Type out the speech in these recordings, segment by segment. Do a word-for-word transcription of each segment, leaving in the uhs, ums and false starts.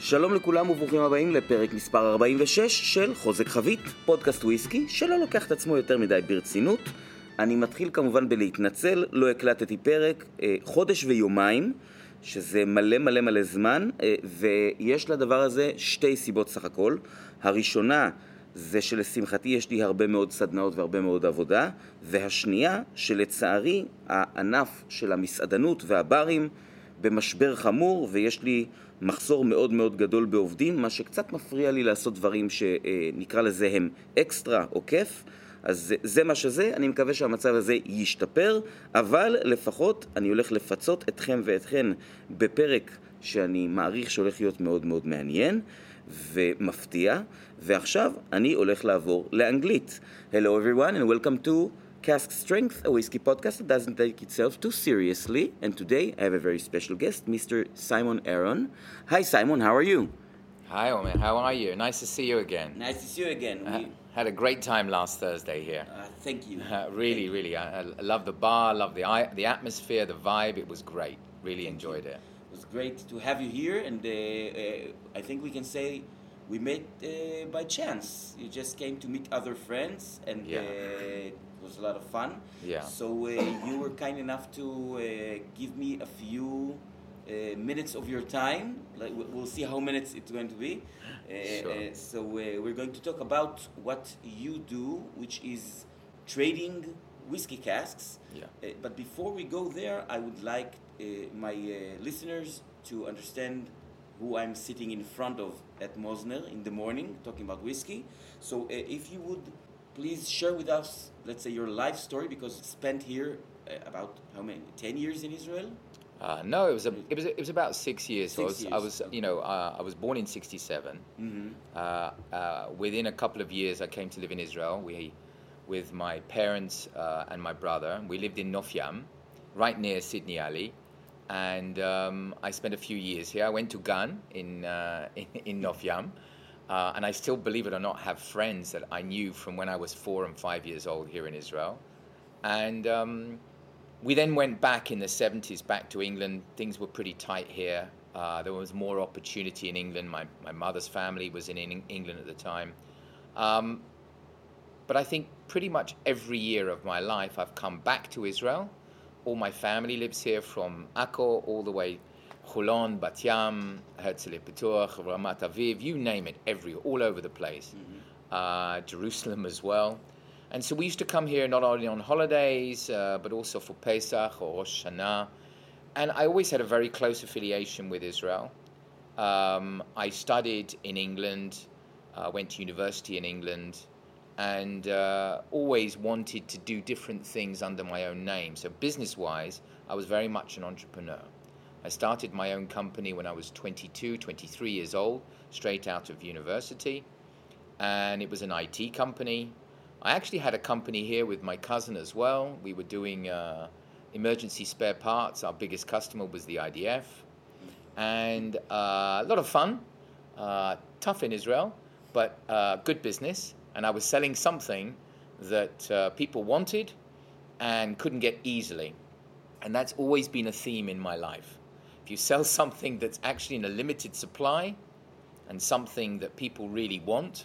שלום לכולם וברוכים הבאים לפרק מספר ארבעים ושש של חוזק חבית, פודקאסט וויסקי שלא לוקח את עצמו יותר מדי ברצינות. אני מתחיל כמובן בלהתנצל, לא הקלטתי פרק אה, חודש ויומיים, שזה מלא מלא מלא זמן, אה, ויש לדבר הזה שתי סיבות סך הכל. הראשונה זה שלשמחתי יש לי הרבה מאוד סדנאות והרבה מאוד עבודה, והשנייה שלצערי הענף של המסעדנות והברים במשבר חמור, ויש לי מחסור מאוד מאוד גדול בעובדים, מה שקצת מפריע לי לעשות דברים שנקרא לזה הם אקסטרה או כיף. אז זה, זה מה שזה, אני מקווה שהמצב הזה ישתפר, אבל לפחות אני הולך לפצות אתכם ואתכן בפרק שאני מעריך שהולך להיות מאוד מאוד מעניין ומפתיע, ועכשיו אני הולך לעבור לאנגלית. Hello everyone and welcome to Cask Strength, a whiskey podcast that doesn't take itself too seriously. And today I have a very special guest, Mister Simon Aron. Hi Simon, how are you? Hi Omer, how are you? Nice to see you again. Nice to see you again. Uh, We, had a great time last Thursday here. uh, thank you. Uh, really, really. I, I love the bar, love the I, the atmosphere, the vibe. It was great. Really enjoyed it. It was great to have you here, and uh, uh, I think we can say we met uh, by chance. You just came to meet other friends, and Yeah. uh, it was a lot of fun. Yeah. So uh, you were kind enough to uh, give me a few uh, minutes of your time. Like we- we'll see how minutes it's going to be. Uh, Sure. uh, so uh, we're going to talk about what you do, which is trading whiskey casks. Yeah. Uh, but before we go there, I would like uh, my uh, listeners to understand who I'm sitting in front of at Mosner in the morning, talking about whiskey. So uh, if you would please share with us, let's say, your life story, because you spent here uh, about how many, ten years in Israel? Uh, no, it was a, it was it was about six years. So I Six was, I years, was okay. you know uh, I was born in sixty-seven. Mm-hmm. Uh, uh, within a couple of years, I came to live in Israel. We, with my parents uh, and my brother, we lived in Nofyam, right near Sydney Alley, and um, I spent a few years here. I went to Gan in uh, in, in Nofyam, uh, and I still, believe it or not, have friends that I knew from when I was four and five years old here in Israel, and. Um, We then went back in the seventies, back to England. Things were pretty tight here. Uh, there was more opportunity in England. My, my mother's family was in Eng- England at the time. Um, but I think pretty much every year of my life I've come back to Israel. All my family lives here, from Akko all the way, Holon, Bat Yam, Herzliya Pituach, Ramat Aviv, you name it, every, all over the place. Uh, Jerusalem as well. And so we used to come here not only on holidays, uh, but also for Pesach or Rosh Hashanah. And I always had a very close affiliation with Israel. Um, I studied in England, uh, went to university in England, and uh, always wanted to do different things under my own name. So business-wise, I was very much an entrepreneur. I started my own company when I was twenty-two, twenty-three years old, straight out of university. And it was an I T company. I actually had a company here with my cousin as well. We were doing uh, emergency spare parts. Our biggest customer was the I D F. And uh, a lot of fun, uh, tough in Israel, but uh, good business. And I was selling something that uh, people wanted and couldn't get easily. And that's always been a theme in my life. If you sell something that's actually in a limited supply and something that people really want,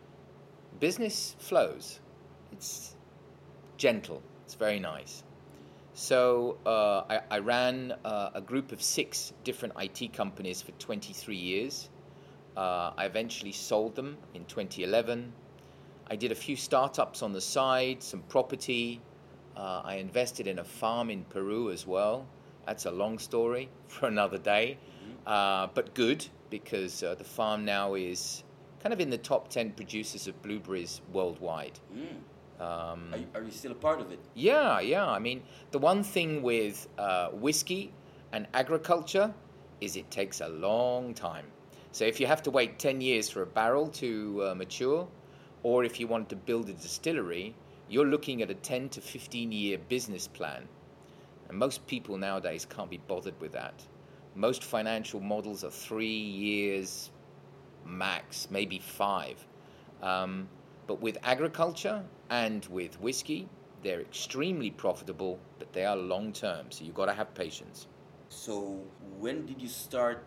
business flows. It's gentle. It's very nice. So uh, I, I ran uh, a group of six different I T companies for twenty-three years. Uh, I eventually sold them in twenty eleven. I did a few startups on the side, some property. Uh, I invested in a farm in Peru as well. That's a long story for another day, uh, but good, because uh, the farm now is kind of in the top ten producers of blueberries worldwide. Mm. Um, Are, you- are you still a part of it? yeah, yeah. I mean, the one thing with uh, whiskey and agriculture is it takes a long time. So if you have to wait ten years for a barrel to uh, mature, or if you want to build a distillery, you're looking at a ten to fifteen year business plan. And most people nowadays can't be bothered with that. Most financial models are three years max, maybe five. Um, but with agriculture and with whiskey, they're extremely profitable, but they are long term, so you've got to have patience. So when did you start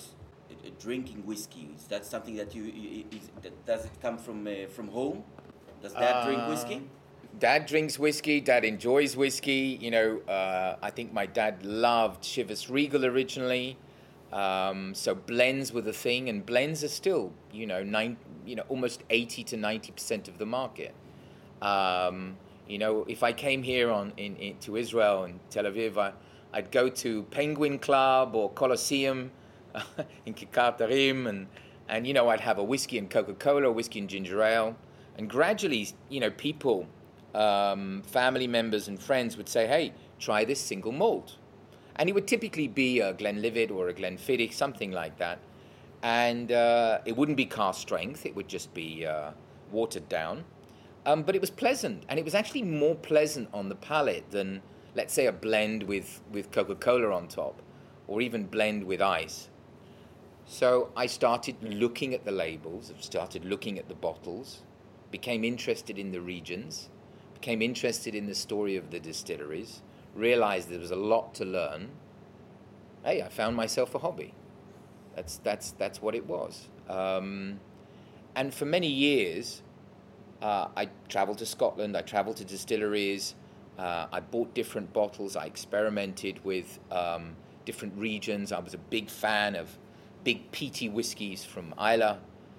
uh, drinking whiskey? Is that something that you, you is, that, does it come from uh, from home? Does Dad uh, drink whiskey? Dad drinks whiskey. Dad enjoys whiskey. You know, uh, I think my dad loved Chivas Regal originally. Um, so blends were the thing, and blends are still, you know, nine, you know, almost eighty to ninety percent of the market. Um, you know, if I came here on in, in to Israel and Tel Aviv, I, I'd go to Penguin Club or Colosseum in Kikar Tarim, and and you know, I'd have a whiskey and Coca-Cola, whiskey and ginger ale, and gradually, you know, people, um, family members and friends would say, "Hey, try this single malt." And it would typically be a Glenlivet or a Glenfiddich, something like that. And uh, it wouldn't be cask strength. It would just be uh, watered down. Um, but it was pleasant. And it was actually more pleasant on the palate than, let's say, a blend with, with Coca-Cola on top, or even blend with ice. So I started looking at the labels, started looking at the bottles, became interested in the regions, became interested in the story of the distilleries, realized there was a lot to learn. Hey, I found myself a hobby. That's that's that's what it was. Um, and for many years, uh, I traveled to Scotland. I traveled to distilleries. Uh, I bought different bottles. I experimented with um, different regions. I was a big fan of big peaty whiskies from Islay.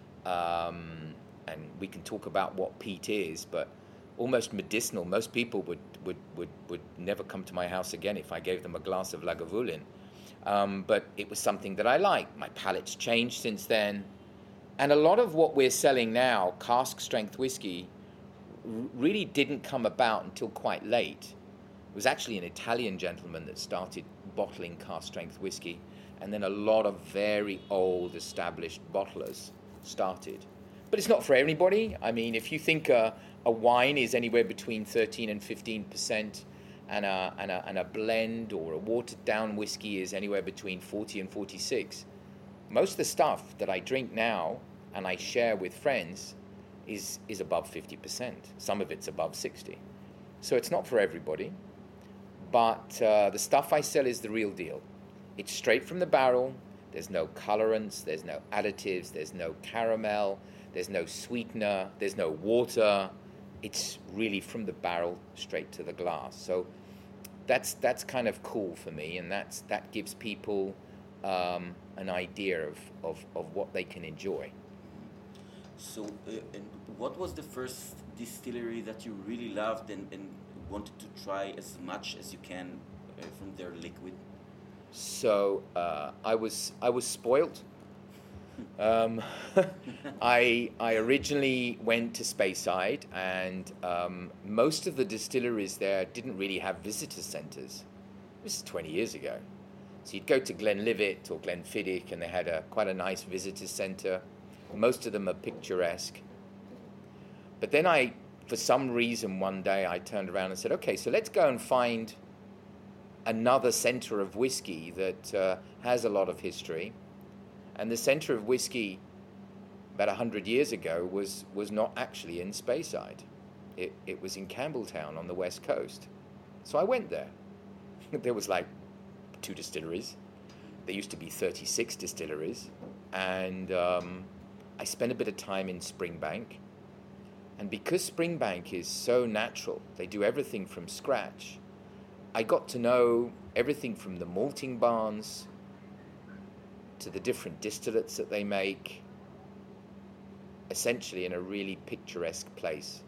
Um, and we can talk about what peat is, but almost medicinal. Most people would, would, would, would never come to my house again if I gave them a glass of Lagavulin. Um, but it was something that I liked. My palate's changed since then. And a lot of what we're selling now, cask strength whiskey, r- really didn't come about until quite late. It was actually an Italian gentleman that started bottling cask strength whiskey. And then a lot of very old established bottlers started. But it's not for everybody. I mean, if you think uh, a wine is anywhere between thirteen and fifteen percent, and a, and, a, and a blend or a watered-down whiskey is anywhere between forty and forty-six, most of the stuff that I drink now and I share with friends is, is above fifty percent. Some of it's above sixty. So it's not for everybody. But uh, the stuff I sell is the real deal. It's straight from the barrel. There's no colorants. There's no additives. There's no caramel. There's no sweetener, there's no water. It's really from the barrel straight to the glass. So that's that's kind of cool for me, and that's that gives people um, an idea of, of, of what they can enjoy. So, uh, and what was the first distillery that you really loved and, and wanted to try as much as you can uh, from their liquid? So uh, I was I was spoiled. Um, I I originally went to Speyside, and um, most of the distilleries there didn't really have visitor centres. This is twenty years ago. So you'd go to Glenlivet or Glenfiddich, and they had a quite a nice visitor centre. Most of them are picturesque. But then I, for some reason, one day I turned around and said, okay, so let's go and find another centre of whiskey that uh, has a lot of history. And the centre of whiskey about one hundred years ago was, was not actually in Speyside. It, it was in Campbelltown on the west coast. So I went there. There was like two distilleries. There used to be thirty-six distilleries. And um, I spent a bit of time in Springbank. And because Springbank is so natural, they do everything from scratch, I got to know everything from the malting barns to the different distillates that they make, essentially in a really picturesque place.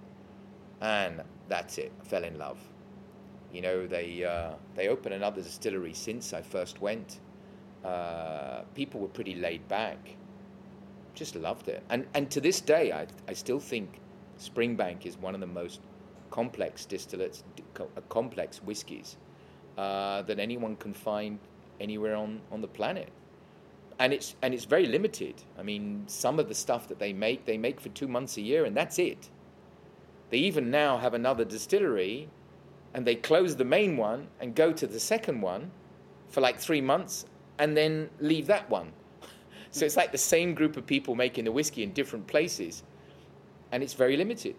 And that's it, I fell in love. You know, they uh, they opened another distillery since I first went. Uh, people were pretty laid back. Just loved it. And and to this day, I I still think Springbank is one of the most complex distillates, complex whiskies uh, that anyone can find anywhere on, on the planet. And it's and it's very limited. I mean, some of the stuff that they make, they make for two months a year, and that's it. They even now have another distillery, and they close the main one and go to the second one for like three months, and then leave that one. So it's like the same group of people making the whiskey in different places, and it's very limited.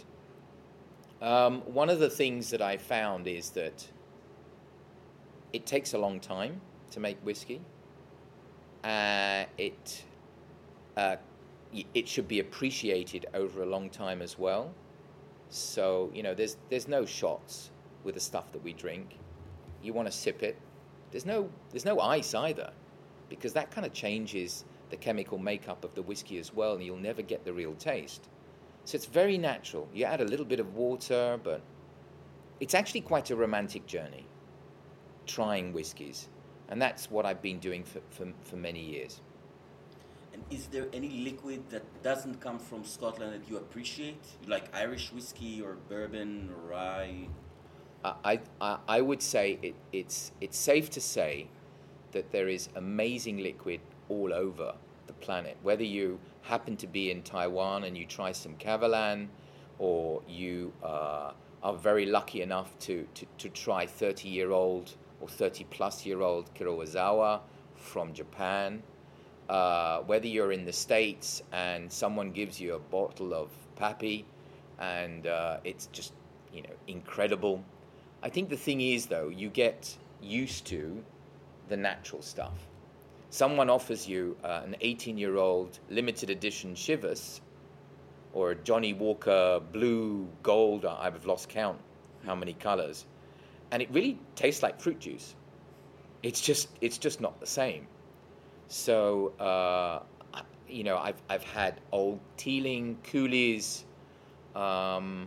Um, one of the things that I found is that it takes a long time to make whiskey. Uh, it uh, it should be appreciated over a long time as well. So, you know, there's there's no shots with the stuff that we drink. You want to sip it. There's no there's no ice either, because that kind of changes the chemical makeup of the whiskey as well, and you'll never get the real taste. So it's very natural. You add a little bit of water, but it's actually quite a romantic journey, trying whiskies. And that's what I've been doing for, for, for many years. And is there any liquid that doesn't come from Scotland that you appreciate? Like Irish whiskey or bourbon or rye? I, I, I would say it, it's, it's safe to say that there is amazing liquid all over the planet. Whether you happen to be in Taiwan and you try some Kavalan, or you uh, are very lucky enough to, to, to try thirty-year-old or thirty-plus-year-old Kurosawa from Japan, uh, whether you're in the States and someone gives you a bottle of Pappy and uh, it's just, you know, incredible. I think the thing is, though, you get used to the natural stuff. Someone offers you uh, an eighteen-year-old limited edition Chivas or a Johnny Walker blue gold, I've lost count how many colors, and it really tastes like fruit juice. It's just it's just not the same. So, uh, you know, I've I've had old Teeling, Cooley's, um,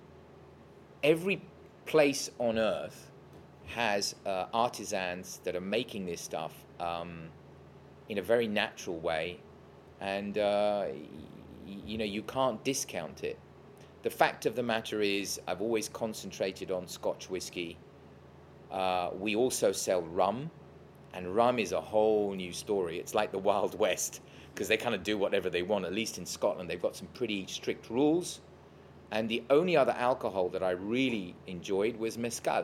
every place on earth has uh, artisans that are making this stuff um, in a very natural way, and uh, y- you know, you can't discount it. The fact of the matter is, I've always concentrated on Scotch whiskey. Uh, we also sell rum, and rum is a whole new story. It's like the Wild West, because they kind of do whatever they want. At least in Scotland, they've got some pretty strict rules. And the only other alcohol that I really enjoyed was mezcal.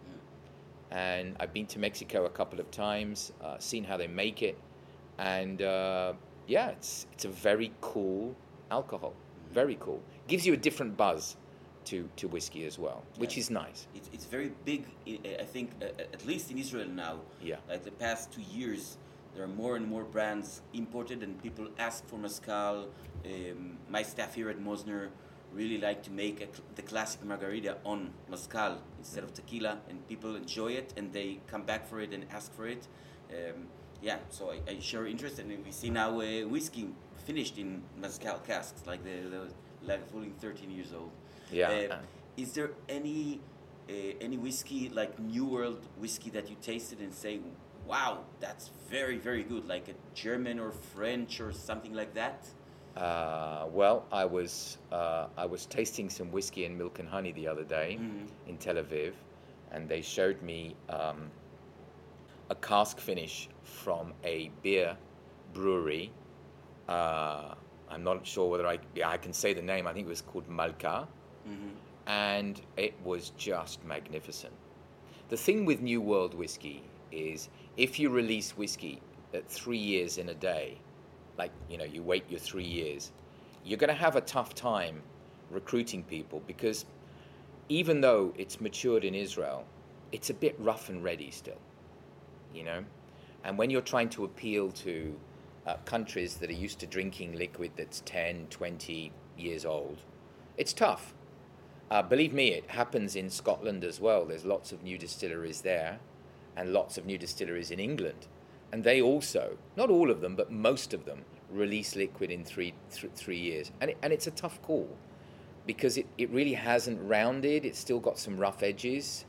And I've been to Mexico a couple of times, uh, seen how they make it, and uh, yeah, it's it's a very cool alcohol, very cool. Gives you a different buzz to, to whiskey as well, which Yes. is nice. It's, it's very big, I I think, uh, at least in Israel now. Yeah. Like the past two years, there are more and more brands imported, and people ask for mezcal. Um, my staff here at Mosner really like to make a, the classic margarita on mezcal instead of tequila, and people enjoy it, and they come back for it and ask for it. Um, yeah, so I, I share interest, and we see now uh, whiskey finished in mezcal casks, like the, the like fully thirteen years old. Yeah. Uh, is there any uh, any whiskey, like New World whiskey, that you tasted and say, wow, that's very, very good, like a German or French or something like that? Uh, well, I was uh, I was tasting some whiskey and milk and honey the other day Mhm. in Tel Aviv, and they showed me um, a cask finish from a beer brewery. Uh, I'm not sure whether I yeah, I can say the name. I think it was called Malka, Mm-hmm. and it was just magnificent. The thing with New World whiskey is, if you release whiskey at three years in a day, like, you know, you wait your three years, you're going to have a tough time recruiting people, because even though it's matured in Israel, it's a bit rough and ready still, you know? And when you're trying to appeal to uh, countries that are used to drinking liquid that's ten, twenty years old, it's tough. Uh, believe me, it happens in Scotland as well. There's lots of new distilleries there, and lots of new distilleries in England. And they also, not all of them, but most of them, release liquid in three th- three years. And it, and it's a tough call, because it, it really hasn't rounded. It's still got some rough edges.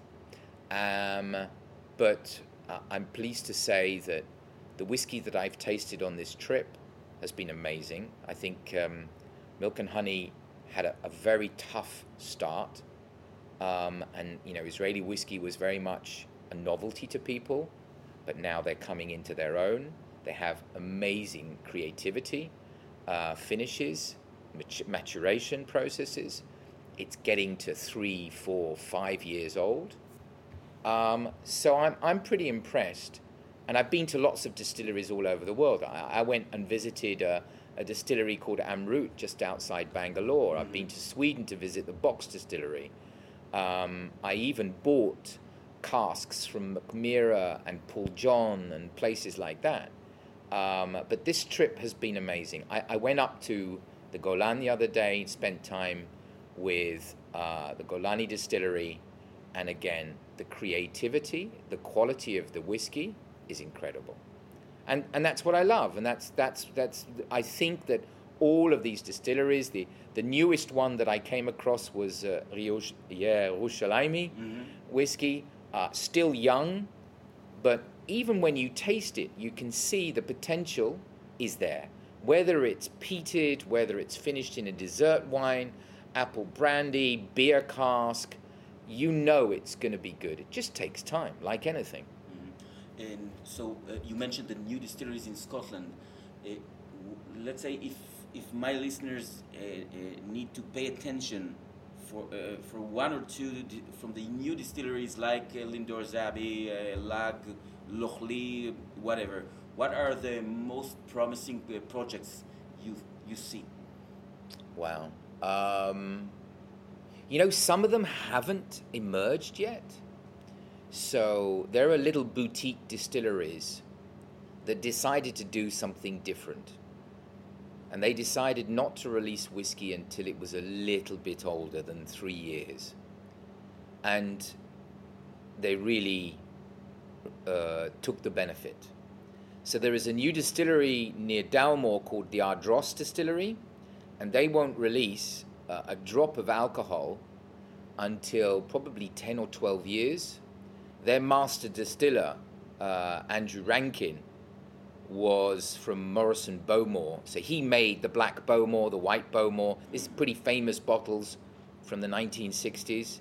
Um, but uh, I'm pleased to say that the whiskey that I've tasted on this trip has been amazing. I think um, Milk and Honey had a, a very tough start. Um, and, you know, Israeli whiskey was very much a novelty to people. But now they're coming into their own. They have amazing creativity, uh, finishes, mat- maturation processes. It's getting to three, four, five years old. Um, so I'm I'm pretty impressed. And I've been to lots of distilleries all over the world. I, I went and visited a, a distillery called Amrut just outside Bangalore. Mm-hmm. I've been to Sweden to visit the Box distillery. Um, I even bought casks from Macmira and Paul John and places like that. Um, but this trip has been amazing. I, I went up to the Golan the other day, spent time with uh, the Golani distillery, and again, the creativity, the quality of the whiskey is incredible. And and that's what I love. And that's that's that's I think that all of these distilleries, the the newest one that I came across was uh, Riosh, yeah, Yerushalayimi mm-hmm. whiskey, uh, still young, but even when you taste it, you can see the potential is there. Whether it's peated, whether it's finished in a dessert wine, apple brandy, beer cask, you know it's going to be good. It just takes time, like anything. Mm-hmm. And so uh, you mentioned the new distilleries in Scotland. Uh, w- let's say if if my listeners uh, uh, need to pay attention for uh, for one or two di- from the new distilleries like uh, Lindor's Abbey, uh, Lag, Lochlee, whatever, what are the most promising uh, projects you you see? Wow. Um, you know, some of them haven't emerged yet. So there are little boutique distilleries that decided to do something different. And they decided not to release whiskey until it was a little bit older than three years. And they really uh, took the benefit. So there is a new distillery near Dalmore called the Ardross Distillery, and they won't release uh, a drop of alcohol until probably ten or twelve years. Their master distiller, uh, Andrew Rankin, was from Morrison Bowmore. So he made the black Bowmore, the white Bowmore. This is pretty famous bottles from the nineteen sixties.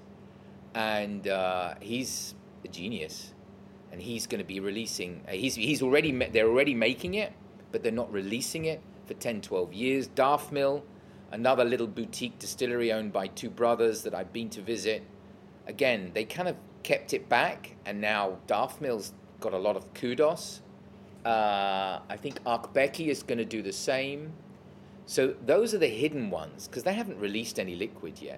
And uh, he's a genius. And he's going to be releasing, uh, he's he's already, ma- they're already making it, but they're not releasing it for ten, twelve years. Darfmill, another little boutique distillery owned by two brothers that I've been to visit. Again, they kind of kept it back, and now Darfmill's got a lot of kudos. Uh, I think Arkbeki is going to do the same. So those are the hidden ones, because they haven't released any liquid yet.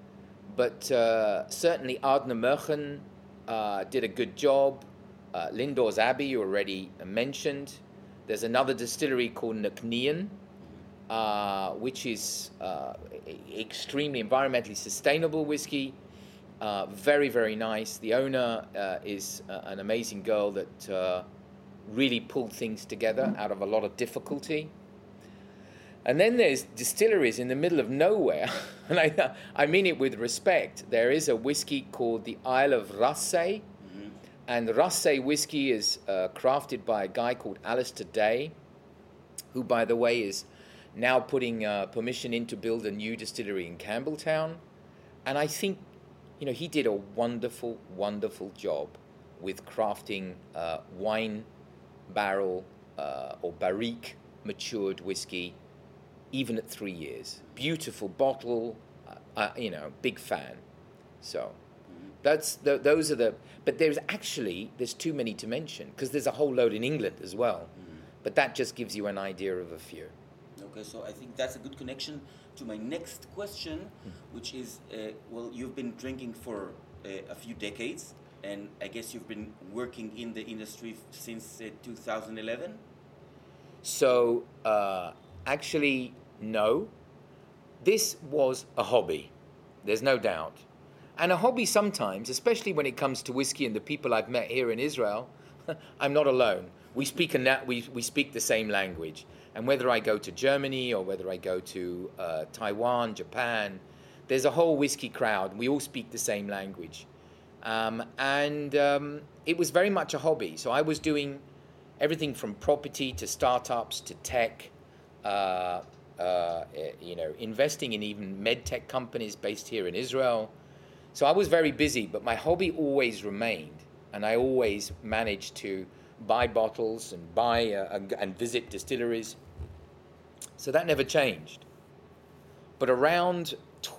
But uh, certainly Ardner Merchen uh, did a good job. Uh, Lindor's Abbey, you already mentioned. There's another distillery called Knocknean, uh, which is uh, extremely environmentally sustainable whiskey. Uh, very, very nice. The owner uh, is uh, an amazing girl that uh, really pulled things together out of a lot of difficulty. And then there's distilleries in the middle of nowhere, and I, I mean it with respect. There is a whiskey called the Isle of Raasay, mm-hmm. and Raasay whiskey is uh, crafted by a guy called Alistair Day, who, by the way, is now putting uh, permission in to build a new distillery in Campbelltown. And I think, you know, he did a wonderful, wonderful job with crafting uh, wine barrel uh, or barrique matured whiskey, even at three years. Beautiful bottle, uh, uh, you know, big fan. So that's the, those are the, but there's actually, there's too many to mention, because there's a whole load in England as well. Mm-hmm. But that just gives you an idea of a few. Okay, so I think that's a good connection to my next question, mm-hmm. which is, uh, well, you've been drinking for uh, a few decades, and I guess you've been working in the industry f- since uh, two thousand eleven? So, uh, actually, no. This was a hobby, there's no doubt. And a hobby sometimes, especially when it comes to whiskey and the people I've met here in Israel, I'm not alone. We speak, a na- we, we speak the same language. And whether I go to Germany or whether I go to uh, Taiwan, Japan, there's a whole whiskey crowd. We all speak the same language. Um, and um, it was very much a hobby. So I was doing everything from property to startups to tech, uh, uh, you know, investing in even med tech companies based here in Israel. So I was very busy, but my hobby always remained. And I always managed to buy bottles and buy uh, and visit distilleries. So that never changed. But around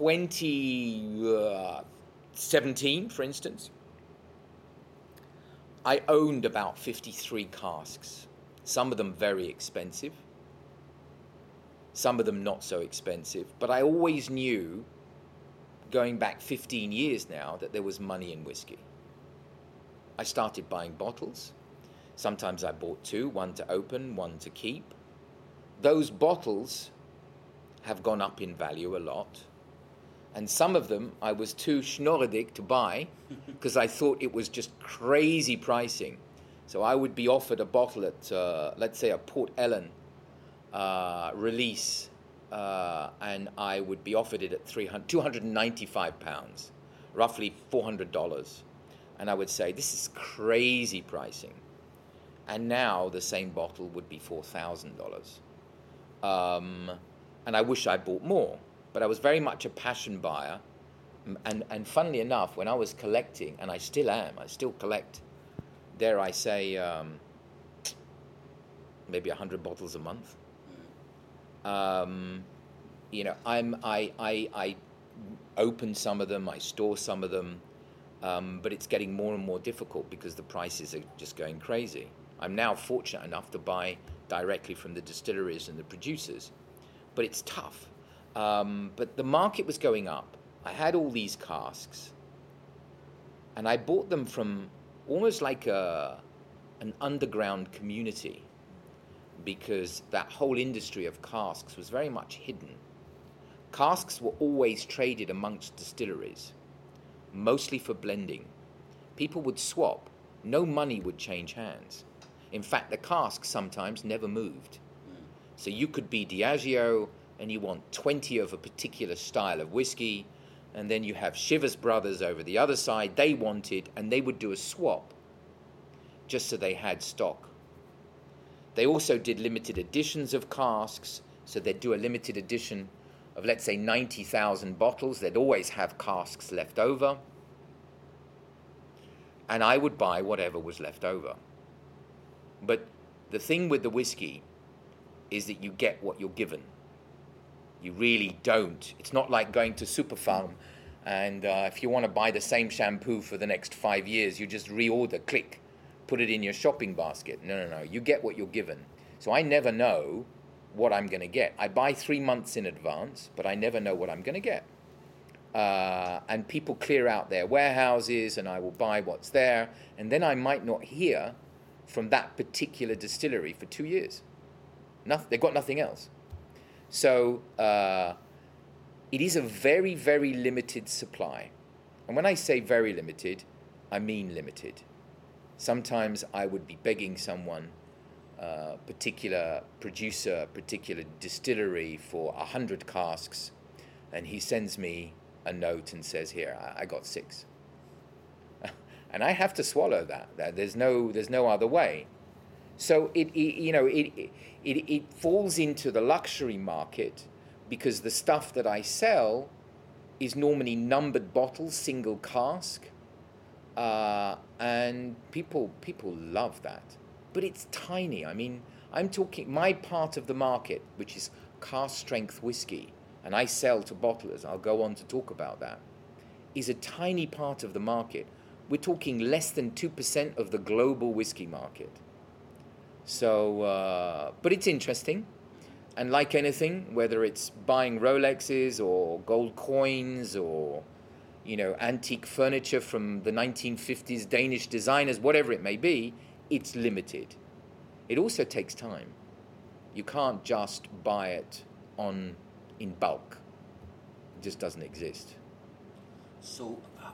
twenty seventeen, for instance, I owned about fifty-three casks. Some of them very expensive, some of them not so expensive. But I always knew, going back fifteen years now, that there was money in whiskey. I started buying bottles. Sometimes I bought two, one to open, one to keep. Those bottles have gone up in value a lot. And some of them I was too schnorredig to buy because I thought it was just crazy pricing. So I would be offered a bottle at, uh, let's say, a Port Ellen uh, release, uh, and I would be offered it at two hundred ninety-five pounds, roughly four hundred dollars. And I would say, this is crazy pricing. And now the same bottle would be four thousand dollars. Um, and I wish I bought more. But I was very much a passion buyer. And, and funnily enough, when I was collecting, and I still am, I still collect, dare I say, um, maybe one hundred bottles a month. Um, you know, I'm, I, I, I open some of them, I store some of them, um, but it's getting more and more difficult because the prices are just going crazy. I'm now fortunate enough to buy directly from the distilleries and the producers, but it's tough. Um, but the market was going up. I had all these casks, and I bought them from almost like a, an underground community, because that whole industry of casks was very much hidden. Casks were always traded amongst distilleries, mostly for blending. People would swap. No money would change hands. In fact, the casks sometimes never moved. So you could be Diageo and you want twenty of a particular style of whiskey, and then you have Chivas Brothers over the other side, they want it, and they would do a swap just so they had stock. They also did limited editions of casks, so they'd do a limited edition of, let's say, ninety thousand bottles. They'd always have casks left over, and I would buy whatever was left over. But the thing with the whiskey is that you get what you're given. You really don't. It's not like going to Superfarm, and uh, if you want to buy the same shampoo for the next five years, you just reorder, click, put it in your shopping basket. No, no, no. You get what you're given. So I never know what I'm going to get. I buy three months in advance, but I never know what I'm going to get. Uh, and people clear out their warehouses, and I will buy what's there, and then I might not hear from that particular distillery for two years. Nothing, they've got nothing else. So uh, it is a very, very limited supply. And when I say very limited, I mean limited. Sometimes I would be begging someone, uh, particular producer, particular distillery for a hundred casks, and he sends me a note and says, here, I, I got six. And I have to swallow that. There's no, there's no other way. So it, it you know, it, it, it falls into the luxury market because the stuff that I sell is normally numbered bottles, single cask, uh, and people people love that. But it's tiny. I mean, I'm talking my part of the market, which is cask strength whiskey, and I sell to bottlers. I'll go on to talk about that. Is a tiny part of the market. We're talking less than two percent of the global whiskey market. So, uh, but it's interesting. And like anything, whether it's buying Rolexes or gold coins or, you know, antique furniture from the nineteen fifties, Danish designers, whatever it may be, it's limited. It also takes time. You can't just buy it on in bulk. It just doesn't exist. So, uh,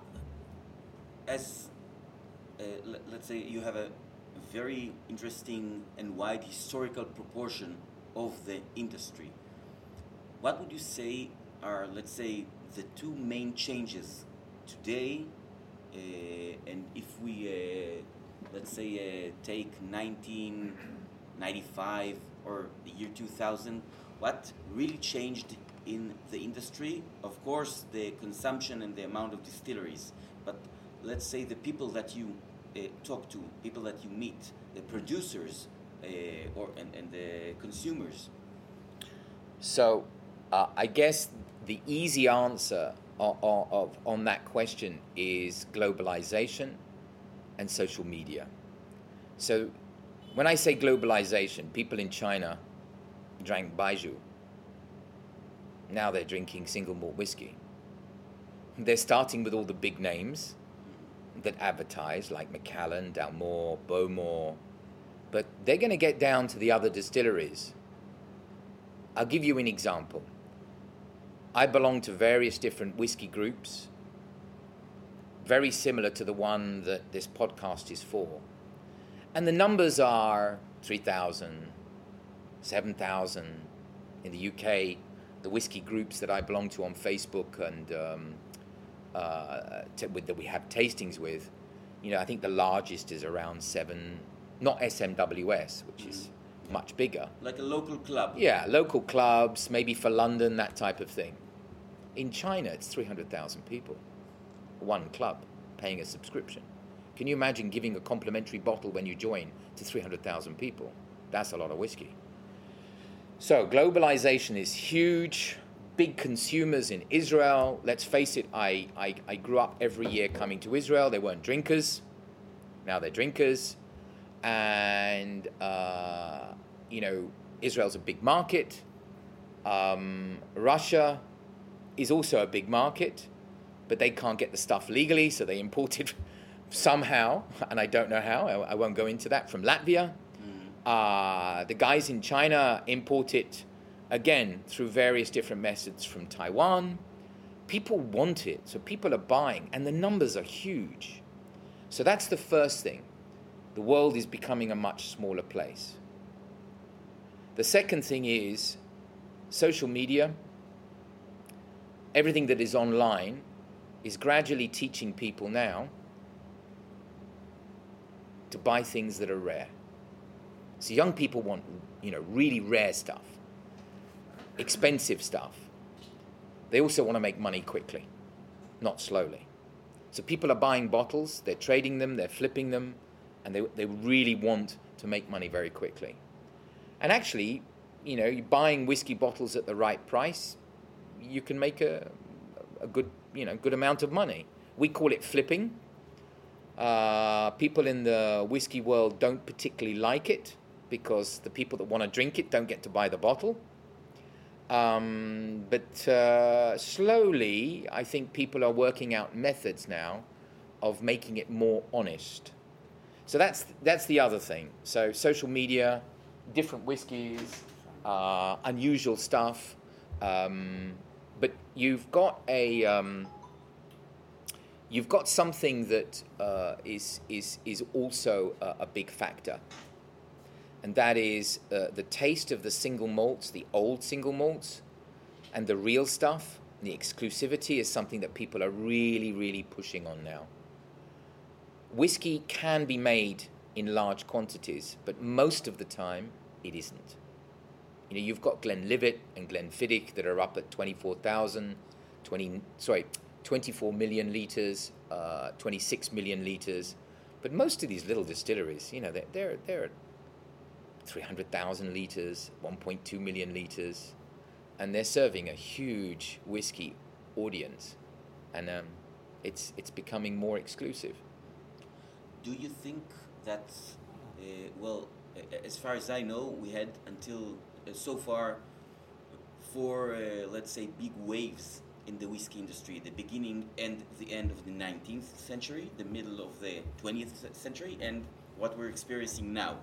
as uh, l- let's say you have a very interesting and wide historical proportion of the industry, what would you say are, let's say, the two main changes today, uh, and if we, uh, let's say, uh, take nineteen ninety-five or the year two thousand, what really changed in the industry? Of course, the consumption and the amount of distilleries, but let's say the people that you uh, talk to, people that you meet, the producers uh, or and, and the consumers. So uh, I guess the easy answer of, of, on that question is globalization and social media. So when I say globalization, people in China drank Baijiu. Now they're drinking single malt whiskey. They're starting with all the big names that advertise, like Macallan, Dalmore, Bowmore, But they're going to get down to the other distilleries. I'll give you an example. I belong to various different whiskey groups, very similar to the one that this podcast is for. And the numbers are three thousand, seven thousand in the U K. The whiskey groups that I belong to on Facebook and um, uh, t- with, that we have tastings with, you know, I think the largest is around seven, not S M W S, which mm. is much bigger. Like a local club. Yeah, local clubs, maybe for London, that type of thing. In China, it's three hundred thousand people, one club, paying a subscription. Can you imagine giving a complimentary bottle when you join to three hundred thousand people? That's a lot of whiskey. So globalization is huge, big consumers in Israel. Let's face it, I, I, I grew up every year coming to Israel. They weren't drinkers. Now they're drinkers. And, uh, you know, Israel's a big market. Um, Russia is also a big market, but they can't get the stuff legally, so they import it somehow, and I don't know how. I, I won't go into that, from Latvia. Uh, the guys in China import it, again, through various different methods from Taiwan. People want it, so people are buying, and the numbers are huge. So that's the first thing. The world is becoming a much smaller place. The second thing is social media. Everything that is online is gradually teaching people now to buy things that are rare. So young people want, you know, really rare stuff, expensive stuff. They also want to make money quickly, not slowly. So people are buying bottles, they're trading them, they're flipping them, and they they really want to make money very quickly. And actually, you know, you're buying whiskey bottles at the right price, you can make a a good, you know, good amount of money. We call it flipping. Uh, people in the whiskey world don't particularly like it, because the people that want to drink it don't get to buy the bottle. Um, but uh, slowly, I think people are working out methods now of making it more honest. So that's that's the other thing. So social media, different whiskies, uh, unusual stuff. Um, but you've got a um, you've got something that uh, is is is also a, a big factor. And that is uh, the taste of the single malts, the old single malts, and the real stuff. The exclusivity is something that people are really, really pushing on now. Whiskey can be made in large quantities, but most of the time it isn't. You know, you've got Glenlivet and Glenfiddich that are up at twenty-four thousand, twenty, sorry, twenty-four million litres, uh, twenty-six million litres. But most of these little distilleries, you know, they're, they're, they're three hundred thousand litres, one point two million litres, and they're serving a huge whiskey audience, and um, it's it's becoming more exclusive. Do you think that, uh, well, as far as I know, we had until uh, so far four, uh, let's say, big waves in the whiskey industry, the beginning and the end of the nineteenth century, the middle of the twentieth century, and what we're experiencing now.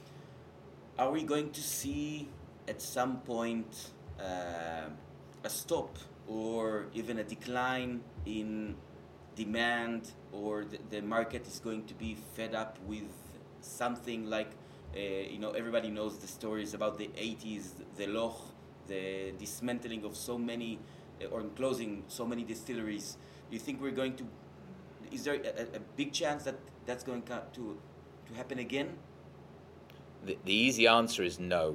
Are we going to see at some point uh, a stop or even a decline in demand, or the, the market is going to be fed up with something like, uh, you know, everybody knows the stories about the eighties, the Loch, the dismantling of so many, uh, or closing so many distilleries. Do you think we're going to, is there a, a big chance that that's going to, to happen again? The, the easy answer is no.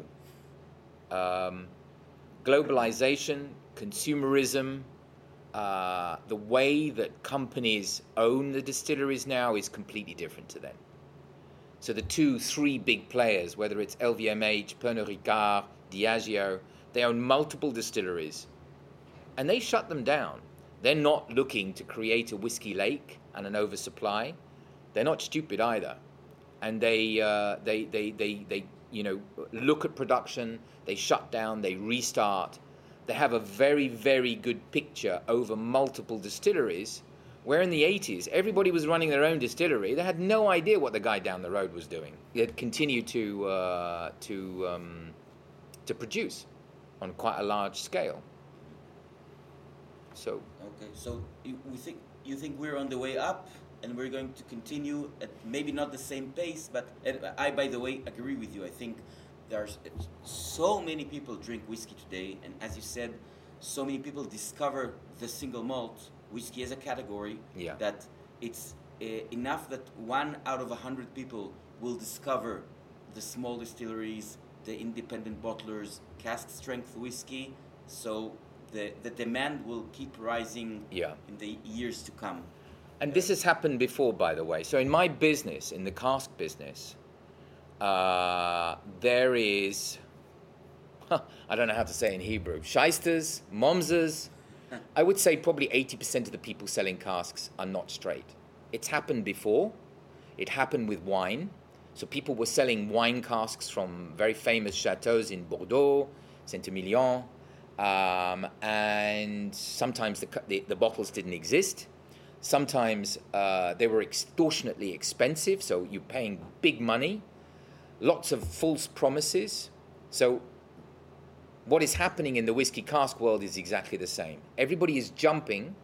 Um, globalization, consumerism, uh, the way that companies own the distilleries now is completely different to then. So the two, three big players, whether it's L V M H, Pernod Ricard, Diageo, they own multiple distilleries, and they shut them down. They're not looking to create a whiskey lake and an oversupply. They're not stupid either. And they, uh, they, they, they, they, you know, look at production, they shut down, they restart. They have a very, very good picture over multiple distilleries Where in the eighties, everybody was running their own distillery. They had no idea what the guy down the road was doing. They'd continued to uh, to um, to produce on quite a large scale. So okay, so you, we think you think we're on the way up, and we're going to continue at maybe not the same pace, but and I, by the way, agree with you. I think there's so many people drink whiskey today, and as you said, so many people discover the single malt whiskey as a category, yeah. that it's uh, enough that one out of a hundred people will discover the small distilleries, the independent bottlers, cask strength whiskey. So the the demand will keep rising yeah. in the years to come. And this has happened before, by the way. So in my business, in the cask business, uh, there is, huh, I don't know how to say in Hebrew, shysters, momzers. I would say probably eighty percent of the people selling casks are not straight. It's happened before. It happened with wine. So people were selling wine casks from very famous chateaux in Bordeaux, Saint-Emilion, um, and sometimes the, the, the bottles didn't exist. Sometimes uh, they were extortionately expensive, so you're paying big money. Lots of false promises. So what is happening in the whiskey cask world is exactly the same. Everybody is jumping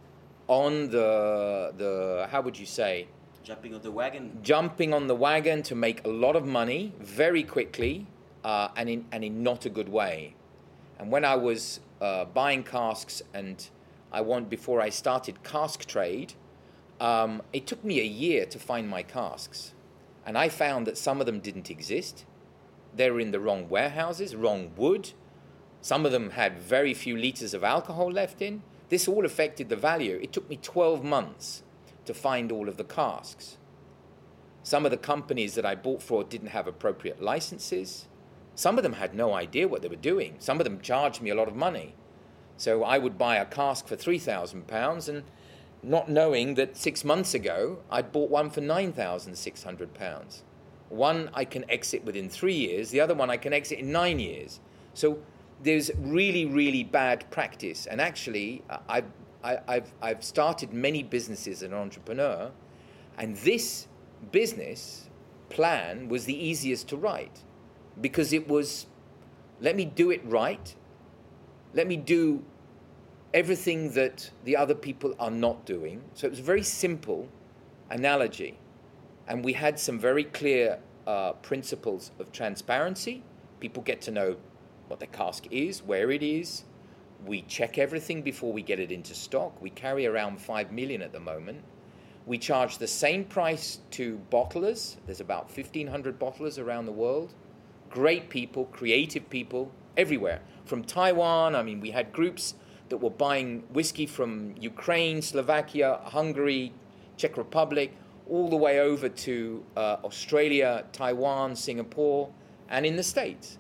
on the, the how would you say? Jumping on the wagon. Jumping on the wagon to make a lot of money very quickly uh, and, in, and in not a good way. And when I was uh, buying casks and I want, before I started cask trade, um, it took me a year to find my casks. And I found that some of them didn't exist. They were in the wrong warehouses, wrong wood. Some of them had very few liters of alcohol left in. This all affected the value. It took me twelve months to find all of the casks. Some of the companies that I bought for didn't have appropriate licenses. Some of them had no idea what they were doing. Some of them charged me a lot of money. So I would buy a cask for three thousand pounds and not knowing that six months ago I'd bought one for nine thousand six hundred pounds. One I can exit within three years, the other one I can exit in nine years. So there's really, really bad practice. And actually, I've, I, I've, I've started many businesses as an entrepreneur, and this business plan was the easiest to write because it was, let me do it right. Let me do everything that the other people are not doing. So it was a very simple analogy. And we had some very clear uh, principles of transparency. People get to know what the cask is, where it is. We check everything before we get it into stock. We carry around five million at the moment. We charge the same price to bottlers. There's about fifteen hundred bottlers around the world. Great people, creative people, everywhere. From Taiwan, I mean, we had groups that were buying whiskey from Ukraine, Slovakia, Hungary, Czech Republic, all the way over to uh, Australia, Taiwan, Singapore, and in the States.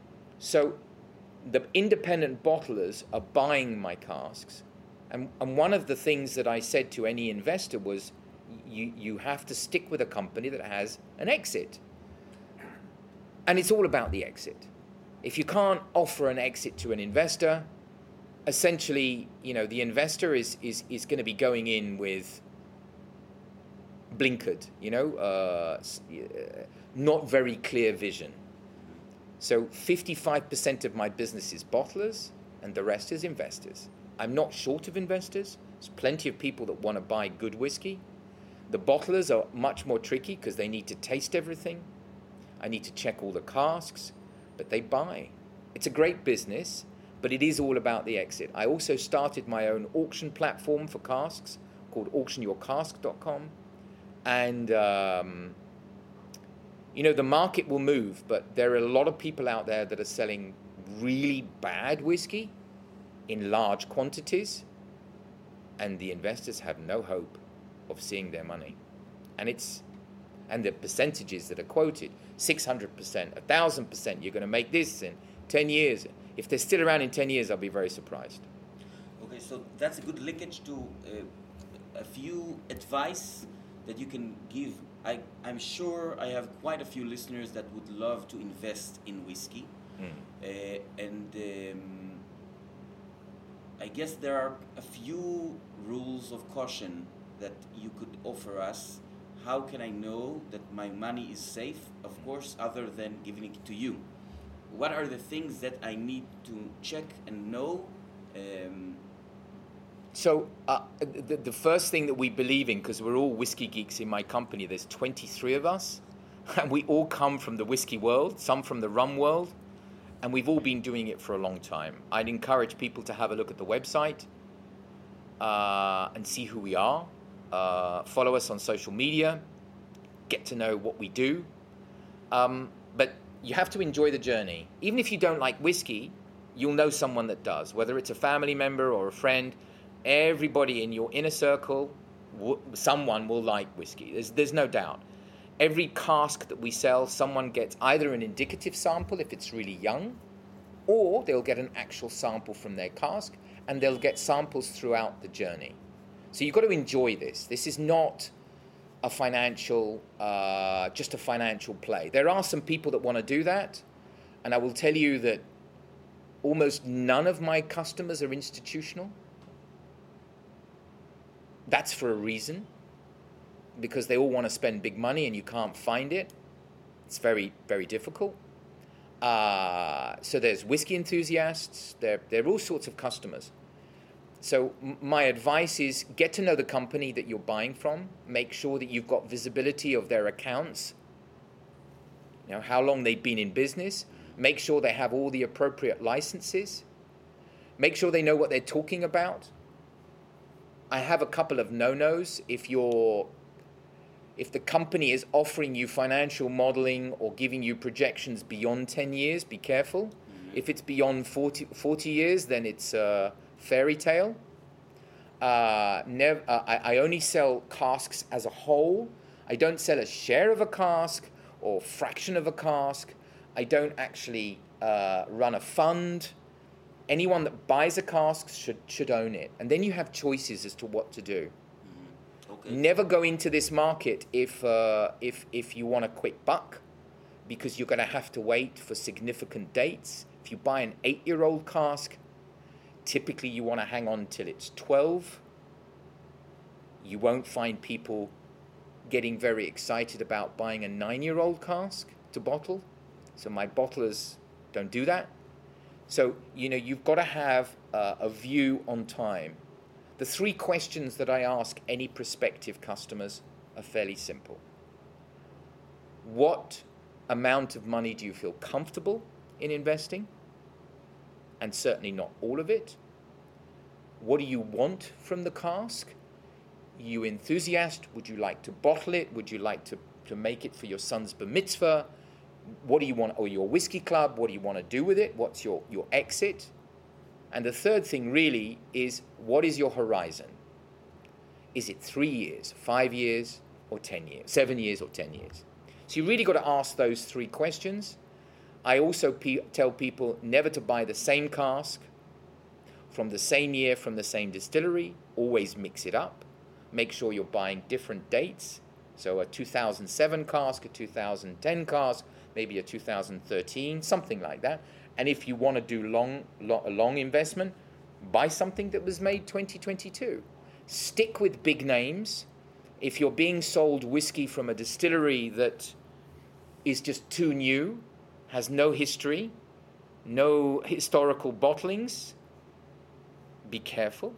So the independent bottlers are buying my casks. And, and one of the things that I said to any investor was, you, you have to stick with a company that has an exit. And it's all about the exit. If you can't offer an exit to an investor, essentially, you know, the investor is is, is going to be going in with blinkered, you know, uh, not very clear vision. So fifty-five percent of my business is bottlers and the rest is investors. I'm not short of investors. There's plenty of people that want to buy good whiskey. The bottlers are much more tricky because they need to taste everything. I need to check all the casks, but they buy. It's a great business, but it is all about the exit. I also started my own auction platform for casks called auction your cask dot com. And, um, you know, the market will move, but there are a lot of people out there that are selling really bad whiskey in large quantities, and the investors have no hope of seeing their money. And it's and the percentages that are quoted, six hundred percent, one thousand percent, you're going to make this in ten years. If they're still around in ten years, I'll be very surprised. Okay, so that's a good linkage to uh, a few advice that you can give. I, I'm sure I have quite a few listeners that would love to invest in whiskey. Mm. Uh, and um, I guess there are a few rules of caution that you could offer us? How can I know that my money is safe, of course, other than giving it to you? What are the things that I need to check and know? Um, So uh, the, the first thing that we believe in, because we're all whiskey geeks in my company, there's twenty-three of us, and we all come from the whiskey world, some from the rum world, and we've all been doing it for a long time. I'd encourage people to have a look at the website uh, and see who we are. Uh, follow us on social media, get to know what we do. Um, but you have to enjoy the journey. Even if you don't like whiskey, you'll know someone that does, whether it's a family member or a friend. Everybody in your inner circle, w- someone will like whiskey. There's, there's no doubt. Every cask that we sell, someone gets either an indicative sample if it's really young, or they'll get an actual sample from their cask, and they'll get samples throughout the journey. So you've got to enjoy this. This is not a financial, uh, just a financial play. There are some people that want to do that, and I will tell you that almost none of my customers are institutional. That's for a reason, because they all want to spend big money and you can't find it. It's very, very difficult. Uh, so there's whiskey enthusiasts. There, there are all sorts of customers. So m- my advice is get to know the company that you're buying from. Make sure that you've got visibility of their accounts, you know, how long they've been in business. Make sure they have all the appropriate licenses. Make sure they know what they're talking about. I have a couple of no-nos. If you're, if the company is offering you financial modeling or giving you projections beyond ten years, be careful. Mm-hmm. If it's beyond forty, forty years, then it's a fairy tale. Uh, nev- uh, I, I only sell casks as a whole. I don't sell a share of a cask or fraction of a cask. I don't actually uh, run a fund. Anyone that buys a cask should should own it. And then you have choices as to what to do. Mm-hmm. Okay. Never go into this market if uh, if if you want a quick buck, because you're going to have to wait for significant dates. If you buy an eight-year-old cask, typically you want to hang on till it's twelve. You won't find people getting very excited about buying a nine-year-old cask to bottle. So my bottlers don't do that. So, you know, you've got to have uh, a view on time. The three questions that I ask any prospective customers are fairly simple. What amount of money do you feel comfortable in investing? And certainly not all of it. What do you want from the cask? You enthusiast? Would you like to bottle it? Would you like to, to make it for your son's bar mitzvah? What do you want, or your whiskey club, what do you want to do with it? What's your, your exit? And the third thing really is, what is your horizon? Is it three years, five years, or ten years, seven years or ten years? So you really got to ask those three questions. I also pe- tell people never to buy the same cask from the same year, from the same distillery. Always mix it up. Make sure you're buying different dates. So a two thousand seven cask, a two thousand ten cask, maybe a two thousand thirteen, something like that. And if you want to do long, long, a long investment, buy something that was made twenty twenty-two. Stick with big names. If you're being sold whiskey from a distillery that is just too new, has no history, no historical bottlings, be careful.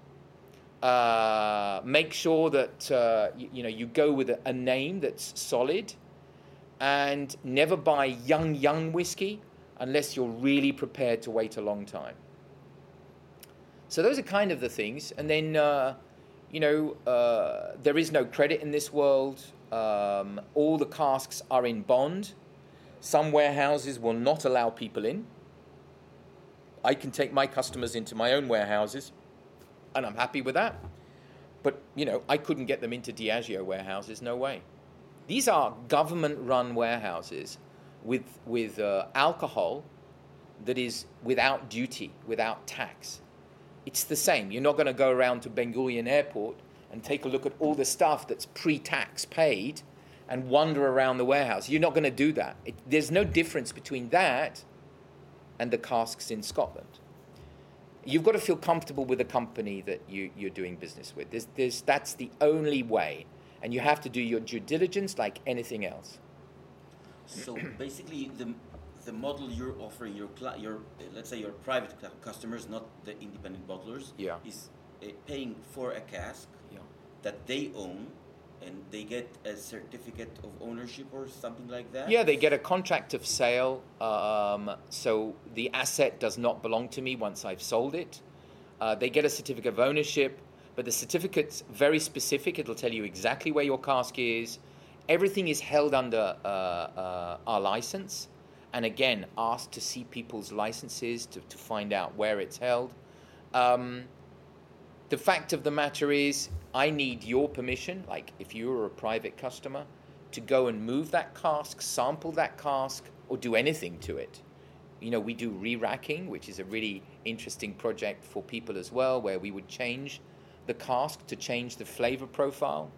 Uh, make sure that uh, you, you know you go with a, a name that's solid, and never buy young, young whiskey unless you're really prepared to wait a long time. So those are kind of the things. And then, uh, you know, uh, there is no credit in this world. Um, all the casks are in bond. Some warehouses will not allow people in. I can take my customers into my own warehouses, and I'm happy with that. But, you know, I couldn't get them into Diageo warehouses, no way. These are government-run warehouses with with uh, alcohol that is without duty, without tax. It's the same. You're not going to go around to Ben Gurion Airport and take a look at all the stuff that's pre-tax paid and wander around the warehouse. You're not going to do that. It, there's no difference between that and the casks in Scotland. you've got to feel comfortable with the company that you, you're doing business with. There's, there's, that's the only way. And you have to do your due diligence like anything else. So basically, the the model you're offering your cli- your uh, let's say your private cu- customers, not the independent bottlers, Yeah. is uh, paying for a cask Yeah. that they own, and they get a certificate of ownership or something like that. Yeah, they get a contract of sale. Um, so the asset does not belong to me once I've sold it. Uh, they get a certificate of ownership, but the certificate's very specific. It'll tell you exactly where your cask is. Everything is held under uh, uh, our license. And again, asked to see people's licenses to, to find out where it's held. Um, the fact of the matter is, I need your permission, like if you're a private customer, to go and move that cask, sample that cask, or do anything to it. You know, we do re-racking, which is a really interesting project for people as well, where we would change the cask to change the flavor profile.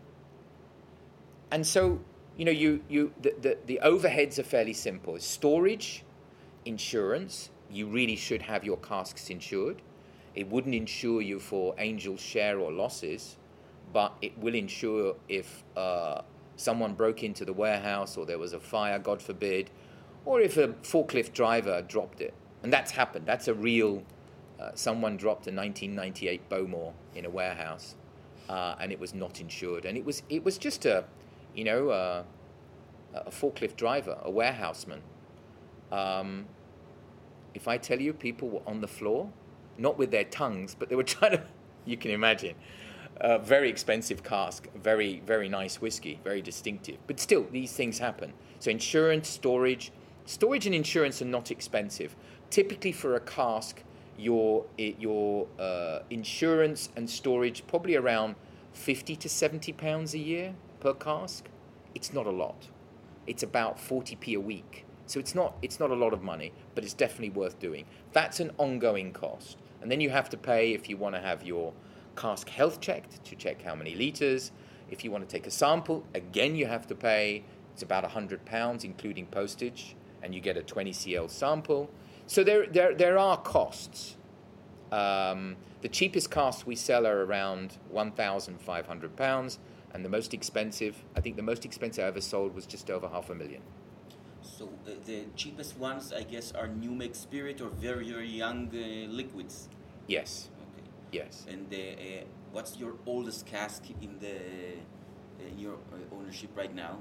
And so, you know, you you the, the, the overheads are fairly simple. Storage, insurance, you really should have your casks insured. It wouldn't insure you for angel share or losses, but it will insure if uh, someone broke into the warehouse or there was a fire, God forbid, or if a forklift driver dropped it. And that's happened. That's a real, uh, someone dropped a nineteen ninety-eight Bowmore in a warehouse, uh, and it was not insured. And it was it was just a, you know, uh, a forklift driver, a warehouseman. Um, if I tell you people were on the floor, not with their tongues, but they were trying to, you can imagine, a very expensive cask, very, very nice whiskey, very distinctive. But still, these things happen. So insurance, storage. Storage and insurance are not expensive. Typically for a cask, your, your uh, insurance and storage probably around fifty to seventy pounds a year per cask. It's not a lot. It's about forty p a week. So it's not it's not a lot of money, but it's definitely worth doing. That's an ongoing cost. And then you have to pay if you want to have your cask health checked, to check how many litres. If you want to take a sample, again you have to pay. It's about one hundred pounds, including postage, and you get a twenty centiliters sample. So there there there are costs. Um, the cheapest casks we sell are around one thousand five hundred pounds, and the most expensive, I think the most expensive I ever sold was just over half a million. So uh, the cheapest ones, I guess, are New Make Spirit or very, very young uh, liquids. Yes. Okay. Yes. And the, uh, what's your oldest cask in the in your uh, ownership right now?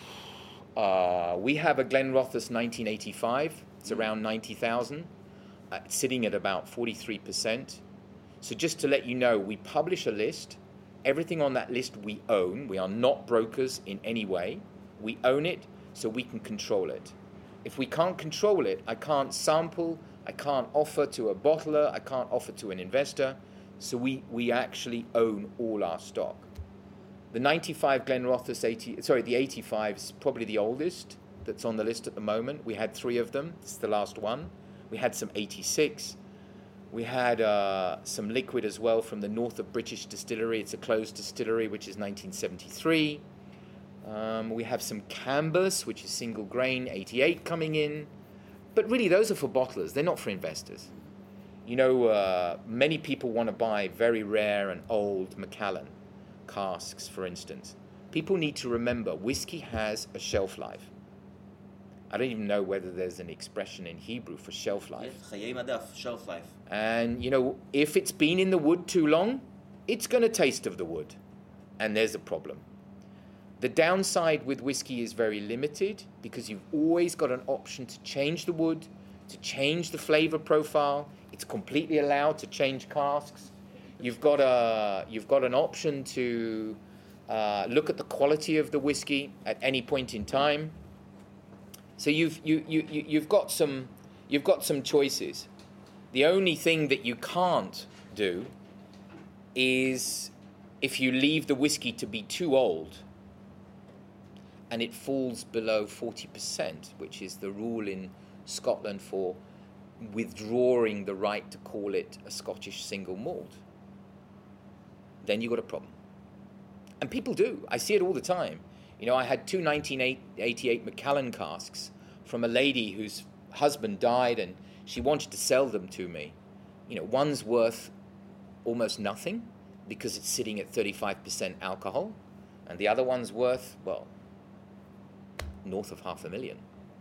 Uh, we have a Glenrothes nineteen eighty-five. It's mm. around ninety thousand. Uh, it's sitting at about forty-three percent. So just to let you know, we publish a list. Everything on that list we own. We are not brokers in any way. We own it, so we can control it. If we can't control it, I can't sample, I can't offer to a bottler, I can't offer to an investor. So we, we actually own all our stock. The ninety-five Glenrothes eighty, sorry, the eighty-five is probably the oldest that's on the list at the moment. We had three of them. It's the last one. We had some eighty-six. We had uh, some liquid as well from the North of British Distillery. It's a closed distillery, which is nineteen seventy-three. Um, we have some Cambus, which is single grain, eighty-eight coming in. But really, those are for bottlers. They're not for investors. You know, uh, many people want to buy very rare and old Macallan casks, for instance. People need to remember, whiskey has a shelf life. I don't even know whether there's an expression in Hebrew for shelf life. Yes, Chayei Madaf, shelf life. And, you know, if it's been in the wood too long, it's going to taste of the wood. And there's a problem. The downside with whiskey is very limited because you've always got an option to change the wood, to change the flavor profile. It's completely allowed to change casks. You've got a you've got an option to uh, look at the quality of the whiskey at any point in time. So you've you, you, you you've got some you've got some choices. The only thing that you can't do is if you leave the whiskey to be too old and it falls below forty percent, which is the rule in Scotland for withdrawing the right to call it a Scottish single malt, then you've got a problem. And people do. I see it all the time. You know, I had two nineteen eighty-eight Macallan casks from a lady whose husband died and she wanted to sell them to me. you know, one's worth almost nothing because it's sitting at thirty-five percent alcohol, and the other one's worth, well, north of half a million.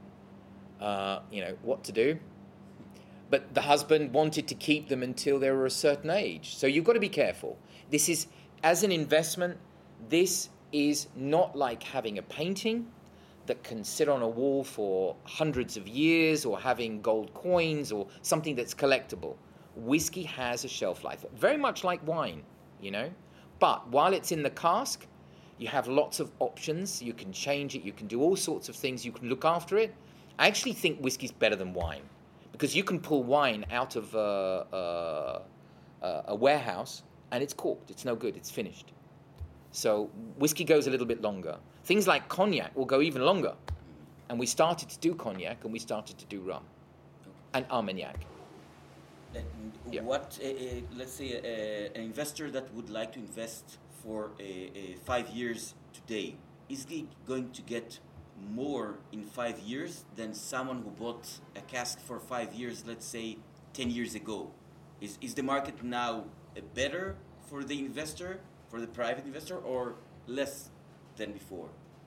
Uh, you know, what to do? But the husband wanted to keep them until they were a certain age. So you've got to be careful. This is, as an investment, this is not like having a painting that can sit on a wall for hundreds of years, or having gold coins, or something that's collectible. Whiskey has a shelf life, very much like wine, you know. But while it's in the cask, you have lots of options. You can change it. You can do all sorts of things. You can look after it. I actually think whiskey's better than wine, because you can pull wine out of uh, uh, uh, a warehouse and it's corked. It's no good. It's finished. So whiskey goes a little bit longer. Things like cognac will go even longer. And we started to do cognac, and we started to do rum and Armagnac. And Yeah. what, uh, uh, let's say, uh, an investor that would like to invest for uh, uh, five years today, is he going to get more in five years than someone who bought a cask for five years, let's say, ten years ago? Is, is the market now uh, better for the investor, for the private investor, or less than before?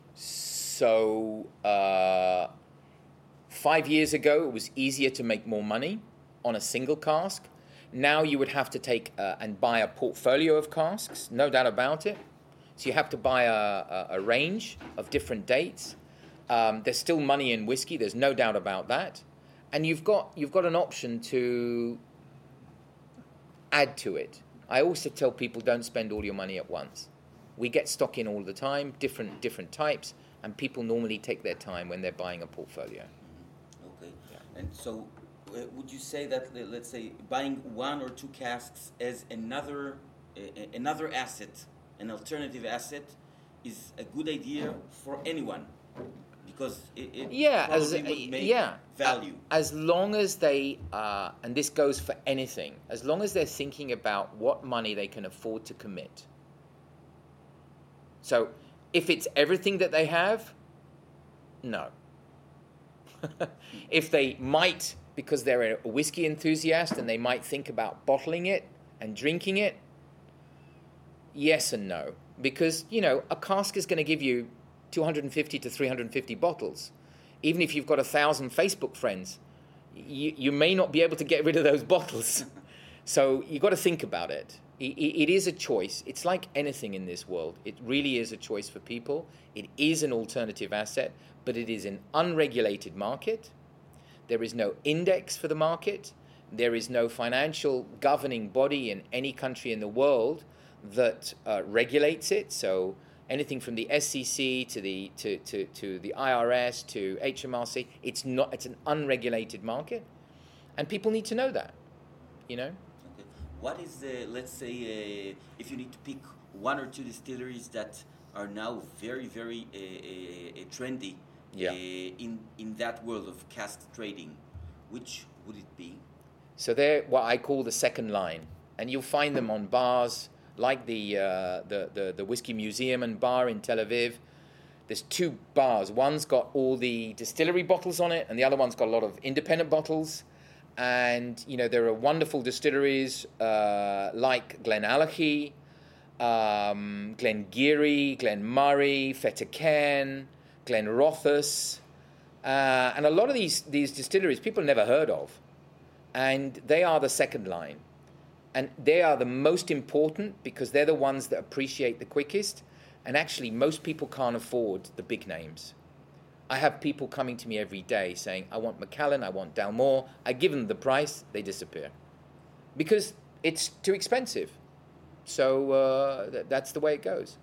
So uh, five years ago, it was easier to make more money on a single cask. Now you would have to take uh, and buy a portfolio of casks, no doubt about it. So you have to buy a, a, a range of different dates. Um, there's still money in whiskey. There's no doubt about that. And you've got you've got an option to add to it. I also tell people, don't spend all your money at once. We get stock in all the time, different different types, and people normally take their time when they're buying a portfolio. Mm-hmm. Okay. Yeah. And so uh, would you say that, uh, let's say, buying one or two casks as another uh, another asset, an alternative asset, is a good idea for anyone? Because it, it Yeah, as, probably would make yeah. value. As long as they, uh, and this goes for anything, as long as they're thinking about what money they can afford to commit. So if it's everything that they have, no. If they might, because they're a whiskey enthusiast and they might think about bottling it and drinking it, yes and no. Because, you know, a cask is going to give you two hundred fifty to three hundred fifty bottles. Even if you've got a thousand Facebook friends, you, you may not be able to get rid of those bottles. So you've got to think about it. It, it. It is a choice. It's like anything in this world. It really is a choice for people. It is an alternative asset, but it is an unregulated market. There is no index for the market. There is no financial governing body in any country in the world that uh, regulates it. So anything from the S E C to the to, to, to the I R S to H M R C, it's not. It's an unregulated market, and people need to know that. You know. Okay. What is the, let's say, uh, if you need to pick one or two distilleries that are now very very uh, uh, trendy Yeah. uh, in in that world of cask trading, which would it be? So they're what I call the second line, and you'll find them on bars like the, uh, the the the Whiskey Museum and Bar in Tel Aviv. There's two bars. One's got all the distillery bottles on it, and the other one's got a lot of independent bottles. And you know there are wonderful distilleries uh, like Glenallachie, um, Glengarry, Glenmurray, Fettercairn, Glenrothes, uh, and a lot of these these distilleries people never heard of, and they are the second line. And they are the most important because they're the ones that appreciate the quickest. And actually, most people can't afford the big names. I have people coming to me every day saying, I want Macallan, I want Dalmore. I give them the price, they disappear. Because it's too expensive. So uh, th- that's the way it goes.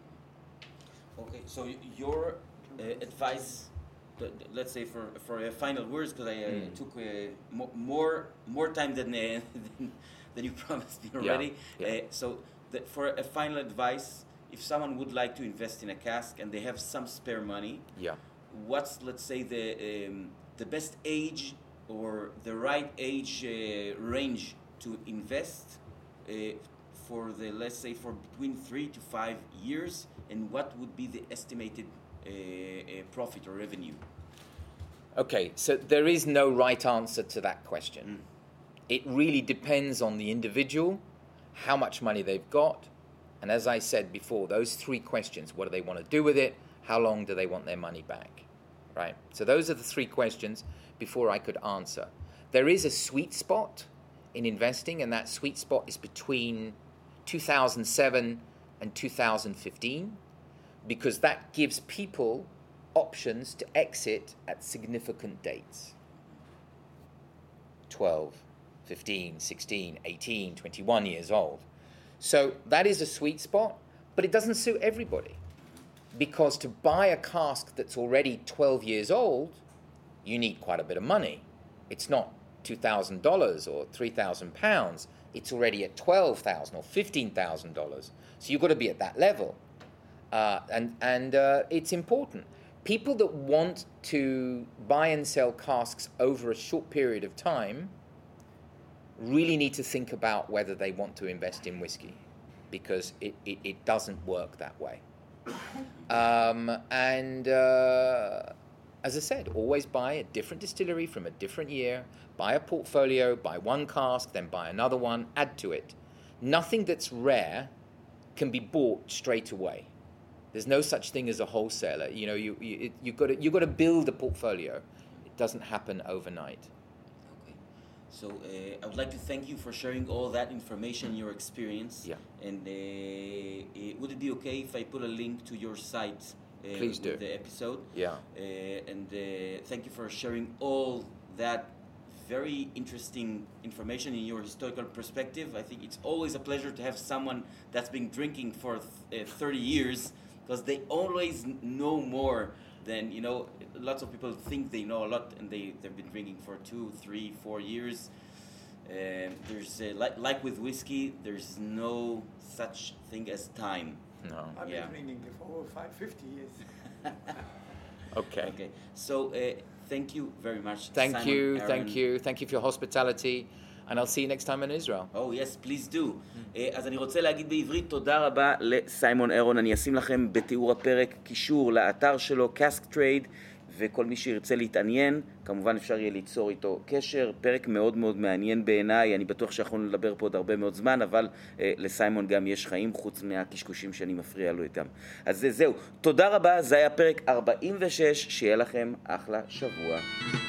Okay, so y- your uh, advice, th- th- let's say for for uh, final words, because I uh, Mm. took uh, mo- more more time than uh, than, than you promised me already. Yeah, yeah. Uh, so the, for a final advice, if someone would like to invest in a cask and they have some spare money, Yeah. what's, let's say, the um, the best age or the right age uh, range to invest uh, for the, let's say, for between three to five years, and what would be the estimated uh, uh, profit or revenue? Okay, so there is no right answer to that question. it really depends on the individual, how much money they've got, and as I said before, those three questions: what do they want to do with it? How long do they want their money back? Right? So those are the three questions before I could answer. There is a sweet spot in investing, and that sweet spot is between two thousand seven and two thousand fifteen, because that gives people options to exit at significant dates. twelve, fifteen, sixteen, eighteen, twenty-one years old. So that is a sweet spot, but it doesn't suit everybody. Because to buy a cask that's already twelve years old, you need quite a bit of money. It's not two thousand dollars or three thousand pounds. It's already at twelve thousand dollars or fifteen thousand dollars. So you've got to be at that level. Uh, and and uh, it's important. People that want to buy and sell casks over a short period of time really need to think about whether they want to invest in whiskey, because it, it, it doesn't work that way. Um, and uh, as I said, always buy a different distillery from a different year, buy a portfolio, buy one cask, then buy another one, add to it. Nothing that's rare can be bought straight away. There's no such thing as a wholesaler. You know, you, you, it, you've got to, you've got to build a portfolio. It doesn't happen overnight. Okay. So uh, I would like to thank you for sharing all that information, your experience. Yeah. And uh, uh, would it be okay if I put a link to your site uh, Please with do. the episode? Yeah. Uh, and uh, thank you for sharing all that very interesting information in your historical perspective. I think it's always a pleasure to have someone that's been drinking for th- uh, thirty years, because they always know more than, you know, lots of people think they know a lot, and they, they've been drinking for two, three, four years. Um, there's, uh, like, like with whiskey, there's no such thing as time. No. I've Yeah. been drinking for over five, fifty years. Okay. Okay, so uh, thank you very much. Thank Simon, you, Aaron. thank you, thank you for your hospitality, and I'll see you next time in Israel. Oh, yes, please do. Uh, אז אני רוצה להגיד בעברית תודה רבה לסיימון אירון. אני אשים לכם בתיאור הפרק קישור לאתר שלו, Cask Trade, וכל מי שירצה להתעניין, כמובן אפשר יהיה ליצור איתו קשר. פרק מאוד מאוד מעניין בעיניי, אני בטוח שיכולנו לדבר פה עוד הרבה מאוד זמן, אבל אה, לסיימון גם יש חיים חוץ מהקשקושים שאני מפריע לו איתם. אז זהו, תודה רבה, זה היה פרק ארבעים ושש, שיהיה לכם אחלה שבוע.